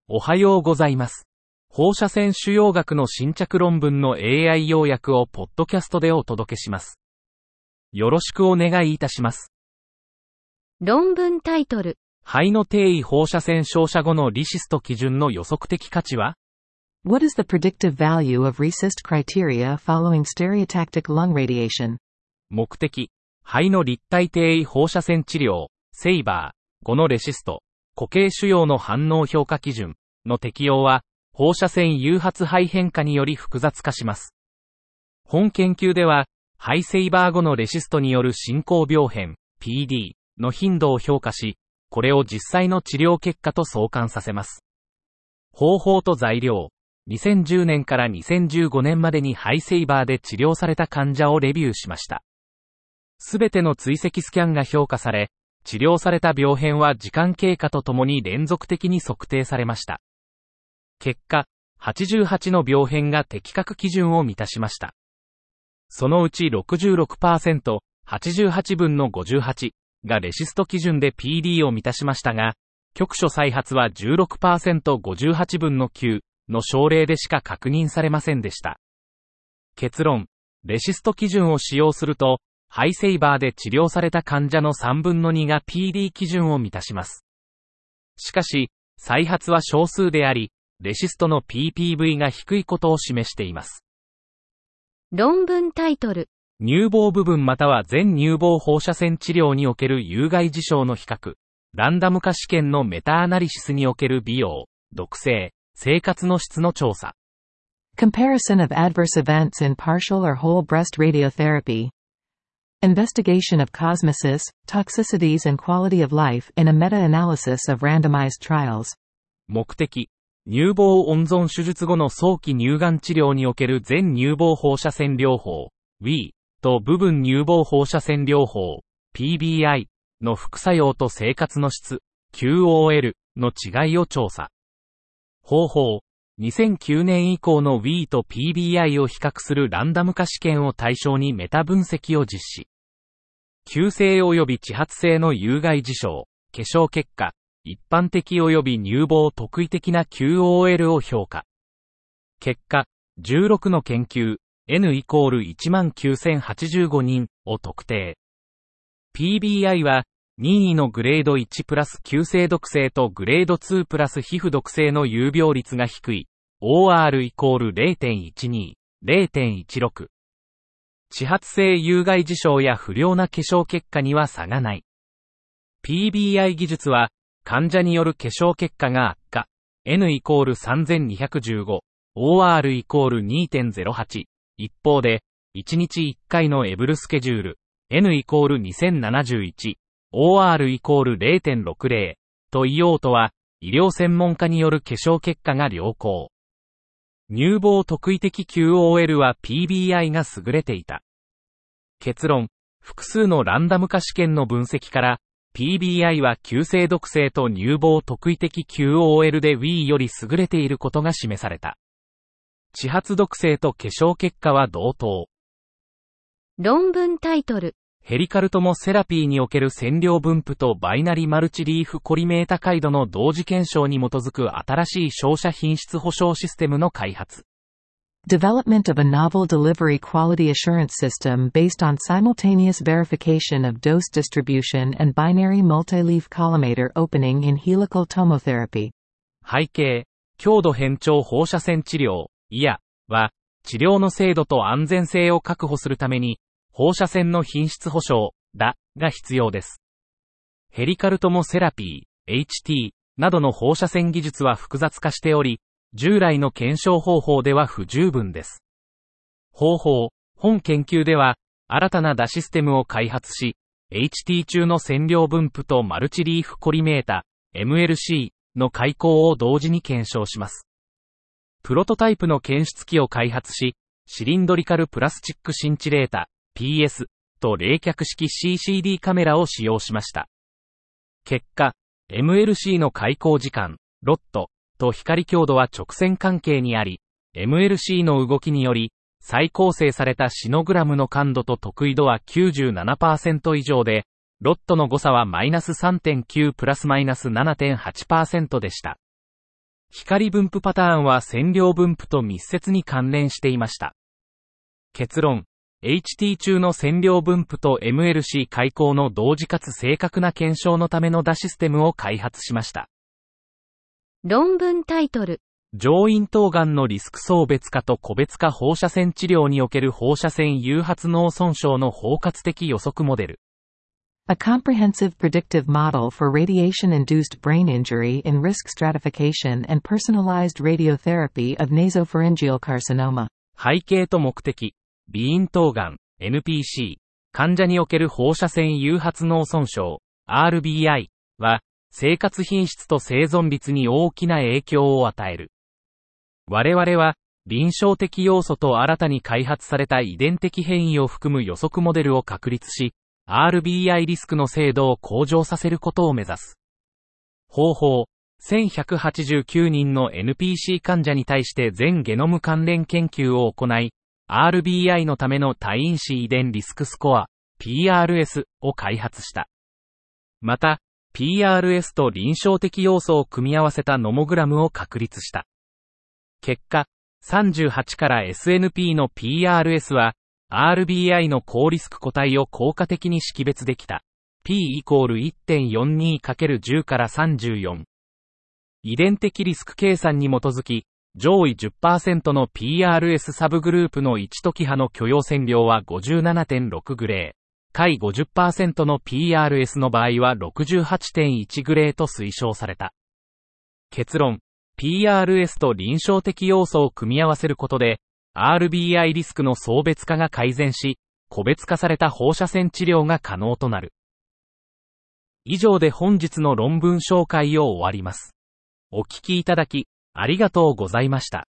おはようございます。放射線腫瘍学の新着論文の AI 要約をポッドキャストでお届けします。よろしくお願いいたします。 論文タイトル。 肺の低位放射線照射後のリシスト基準の予測的価値は？ What is the predictive value of RECIST criteria following stereotactic lung radiation? 目的、肺の立体低位放射線治療、セイバー、後のレシスト、固形腫瘍の反応評価基準の適用は、放射線誘発肺変化により複雑化します。本研究では、肺セイバー後のレシストによる進行病変、PD の頻度を評価し、これを実際の治療結果と相関させます。方法と材料、2010年から2015年までに肺セイバーで治療された患者をレビューしました。すべての追跡スキャンが評価され、治療された病変は時間経過とともに連続的に測定されました。結果、88の病変が適格基準を満たしました。そのうち 66%、88分の58がレシスト基準で PD を満たしましたが、局所再発は 16%、58分の9の症例でしか確認されませんでした。結論、レシスト基準を使用すると、肺セイバーで治療された患者の3分の2が PD 基準を満たします。しかし、再発は少数であり、レシストの PPV が低いことを示しています。 論文タイトル。 乳房部分または全乳房放射線治療における有害事象の比較、ランダム化試験のメタアナリシスにおける美容、毒性、生活の質の調査。 Comparison of adverse events in partial or whole breast radiotherapy. Investigation of cosmesis, toxicities and quality of life in a meta-analysis of randomized trials. 目的、乳房温存手術後の早期乳がん治療における全乳房放射線療法、WE と部分乳房放射線療法、PBI の副作用と生活の質、QOL の違いを調査。方法、2009年以降の WE と PBI を比較するランダム化試験を対象にメタ分析を実施。急性及び遅発性の有害事象、化粧結果、一般的及び乳房特異的な QOL を評価。結果、16の研究、N イコール19085人を特定。PBI は、任意のグレード1プラス急性毒性とグレード2プラス皮膚毒性の有病率が低い。OR イコール 0.12、0.16。遅発性有害事象や不良な化粧結果には差がない。PBI 技術は、患者による化粧結果が悪化。N イコール3215、OR イコール 2.08。一方で、1日1回のエブルスケジュール、N イコール2071、OR イコール 0.60 と異様とは、医療専門家による化粧結果が良好。乳房特異的 QOL は PBI が優れていた。結論、複数のランダム化試験の分析から、PBI は急性毒性と乳房特異的 QOL で WE より優れていることが示された。遅発毒性と化粧結果は同等。 論文タイトル。 ヘリカルトモセラピーにおける線量分布とバイナリマルチリーフコリメータ回路の同時検証に基づく新しい照射品質保証システムの開発。 Development of a novel delivery quality assurance system based on simultaneous verification of dose distribution and binary multi-leaf collimator opening in helical tomotherapy. 背景、強度変調放射線治療、IAR は、治療の精度と安全性を確保するために、放射線の品質保証、DA が必要です。ヘリカルトモセラピー、HT などの放射線技術は複雑化しており、従来の検証方法では不十分です。方法、本研究では、新たなDAシステムを開発し、HT 中の線量分布とマルチリーフコリメータ、MLC の開口を同時に検証します。プロトタイプの検出機を開発し、シリンドリカルプラスチックシンチレータ、PS と冷却式 CCD カメラを使用しました。結果、MLC の開口時間、ロットと光強度は直線関係にあり、MLC の動きにより、再構成されたシノグラムの感度と特異度は 97% 以上で、ロットの誤差は -3.9 プラス -7.8% でした。 光分布パターンは線量分布と密接に関連していました。結論、HT 中の線量分布と MLC 開口の同時かつ正確な検証のためのDAシステムを開発しました。 論文タイトル。 上咽頭がんのリスク層別化と個別化放射線治療における放射線誘発脳損傷の包括的予測モデル。 A comprehensive predictive model for radiation-induced brain injury in risk stratification and personalized radiotherapy of nasopharyngeal carcinoma. 背景と目的、鼻咽頭がん、NPC、患者における放射線誘発脳損傷、RBI は、生活品質と生存率に大きな影響を与える。我々は、臨床的要素と新たに開発された遺伝的変異を含む予測モデルを確立し、RBI リスクの精度を向上させることを目指す。方法、1189人の NPC 患者に対して全ゲノム関連研究を行い、RBI のための多因子遺伝リスクスコア、PRS を開発した。また、PRS と臨床的要素を組み合わせたノモグラムを確立した。結果、38から SNP の PRS は、RBI の高リスク個体を効果的に識別できた。P=1.42×10 から34。遺伝的リスク計算に基づき、上位 10% の PRS サブグループの1時波の許容線量は 57.6 グレー。下位 50% の PRS の場合は 68.1 グレーと推奨された。結論、PRS と臨床的要素を組み合わせることで、RBI リスクの層別化が改善し、個別化された放射線治療が可能となる。以上で本日の論文紹介を終わります。お聞きいただき、ありがとうございました。